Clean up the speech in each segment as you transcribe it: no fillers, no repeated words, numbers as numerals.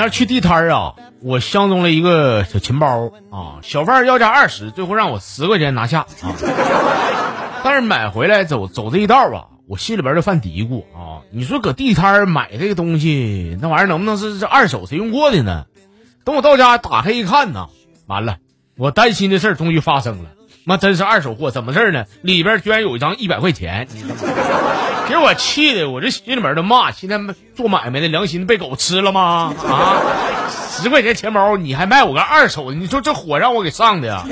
天去地摊啊，我相中了一个小琴包啊，小贩要价20，最后让我10块钱拿下啊。但是买回来走这一道啊，我心里边就犯嘀咕啊，你说搁地摊买这个东西，那玩意儿能不能是二手谁用过的呢？等我到家打开一看呢，完了，我担心的事儿终于发生了，妈真是二手货，怎么事呢？里边居然有一张100块钱，给我气的，我这心里边都骂，现在做买卖的良心被狗吃了吗？啊，10块钱钱包你还卖我个二手的，你说这火让我给上的呀！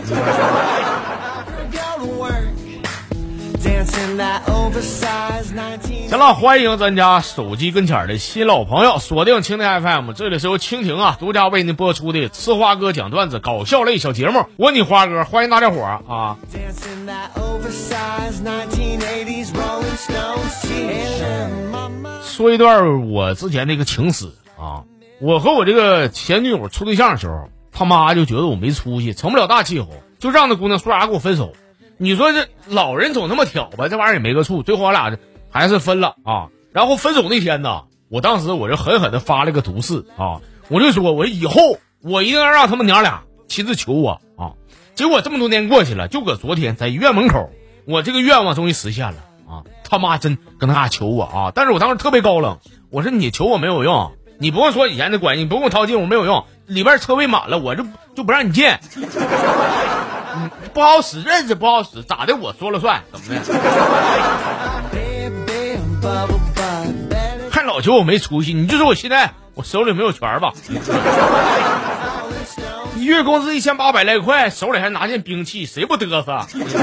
行了，欢迎咱家手机跟前的新老朋友锁定蜻蜓 FM， 这里是由蜻蜓独家为您播出的吃花哥讲段子搞笑类小节目，我你花哥，欢迎大家伙啊！说一段我之前的一个情史啊，我和我这个前女友处对象的时候，他妈就觉得我没出息，成不了大气候，就让那姑娘说啥给我分手。你说这老人总那么挑吧，这玩意儿也没个处，最后我俩还是分了啊。然后分手那天呢，我当时我就狠狠的发了个毒誓啊，我就说我以后我一定要让他们娘俩亲自求我啊。结果这么多年过去了，就搁昨天在医院门口，我这个愿望终于实现了啊！他妈真跟他俩求我啊，但是我当时特别高冷，我说你求我没有用，你不用说以前的关系，你不用掏金我没有用，里边车位满了，我就不让你进。不好使，认识不好使，咋的？我说了算，怎么的？看老求我没出息，你就说我现在我手里没有权吧？你月工资1800来块，手里还拿件兵器，谁不嘚瑟？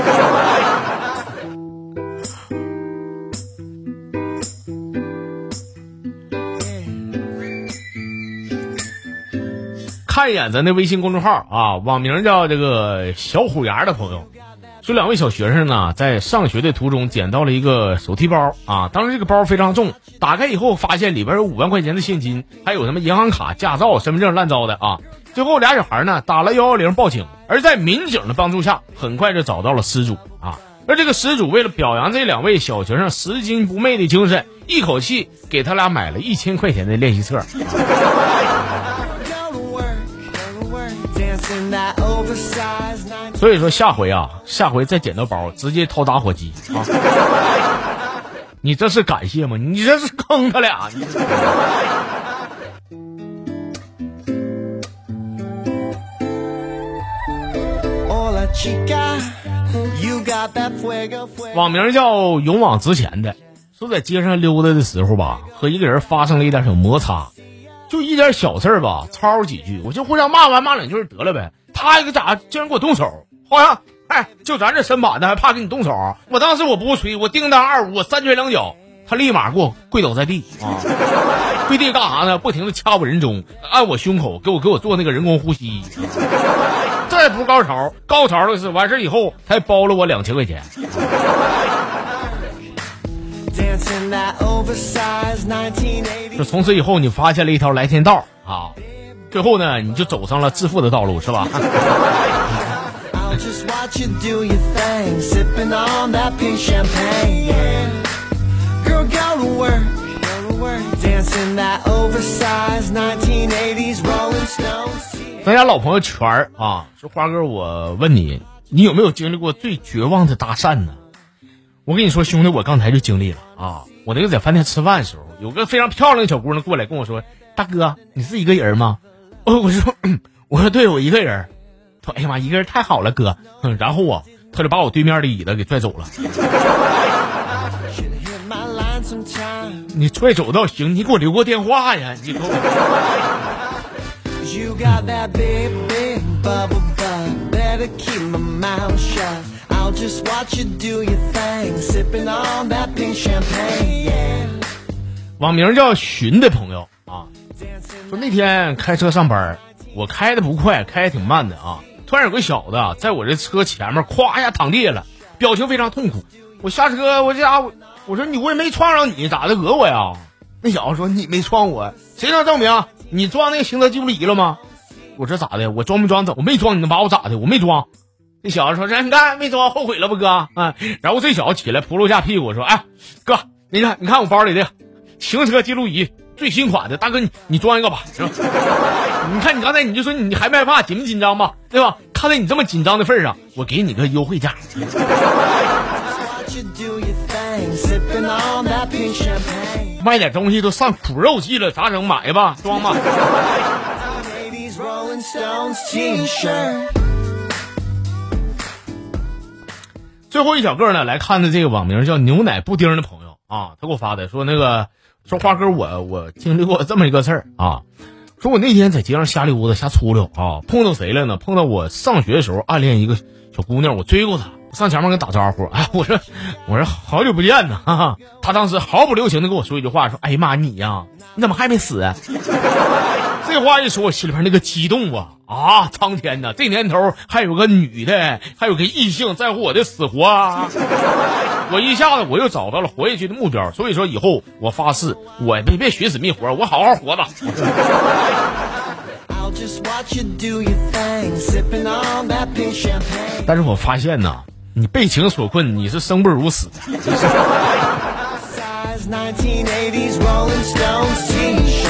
看一眼咱的微信公众号啊，网名叫这个小虎牙的朋友说，2位小学生呢在上学的途中捡到了一个手提包啊，当时这个包非常重，打开以后发现里边有5万块钱的现金，还有什么银行卡、驾照、身份证乱糟的啊。最后俩小孩呢打了110报警，而在民警的帮助下，很快就找到了失主啊。而这个失主为了表扬这2位小学生拾金不昧的精神，一口气给他俩买了1000块钱的练习册。所以说下回再捡到包直接掏打火机啊！你这是感谢吗？你这是坑他俩。网名叫勇往直前的说，在街上溜达的时候吧，和一个人发生了一点小摩擦，就一点小事吧，吵几句，我就互相骂2句得了呗。他一个咋竟然给我动手，好像就咱这身板的还怕给你动手。我当时我不吹，我叮当2-5，我3拳2脚，他立马给我跪倒在地啊！跪地干啥呢？不停的掐我人中，按我胸口，给我做那个人工呼吸。这也不是高潮，高潮的是完事以后他还包了我2000块钱。就从此以后你发现了一条来天道啊，最后呢你就走上了致富的道路，是吧？咱家老朋友圈啊，说花哥，我问你，你有没有经历过最绝望的搭讪呢？我跟你说兄弟，我刚才就经历了啊！我那个在饭店吃饭的时候，有个非常漂亮的小姑娘过来跟我说，大哥你是一个人吗？我说对，我一个人。他说哎呀妈，一个人太好了哥。然后他就把我对面的椅子给拽走了。你拽走倒行，你给我留过电话呀，你给我网名叫寻的朋友啊，说那天开车上班，我开的不快，开的挺慢的啊。突然有个小子在我这车前面咵一下躺地了，表情非常痛苦。我下车，我说你我也没撞上你，咋的讹我呀？那小子说你没撞我，谁能证明？你装那个行车记录仪了吗？我说咋的？我装没装？我没装，你能把我咋的？我没装。那小子说你看没装，后悔了不哥啊？然后这小子起来扑噜下屁股说，哎哥，你看我包里的行车记录仪最新款的，大哥你装一个吧，是吧？你看你刚才你就说你害不害怕，紧不紧张吧，对吧？看在你这么紧张的份上，我给你个优惠价。卖点东西都上苦肉计了，咋整？买吧，装吧。最后一小个呢，来看的这个网名叫牛奶布丁的朋友啊，他给我发的说说花哥我经历过这么一个事儿啊，说我那天在街上瞎溜达瞎出溜啊，碰到谁了呢？碰到我上学的时候暗恋一个小姑娘，我追过她，上前面跟打招呼，哎，我说好久不见呢，哈哈。她当时毫不留情的跟我说一句话，说哎呀妈你呀，你怎么还没死啊？这话一说，我心里边那个激动啊！苍天呐，这年头还有个女的，还有个异性在乎我的死活啊！我一下子我又找到了活下去的目标，所以说以后我发誓，我别寻死觅活，我好好活着。但是我发现呐，你被情所困，你是生不如死的。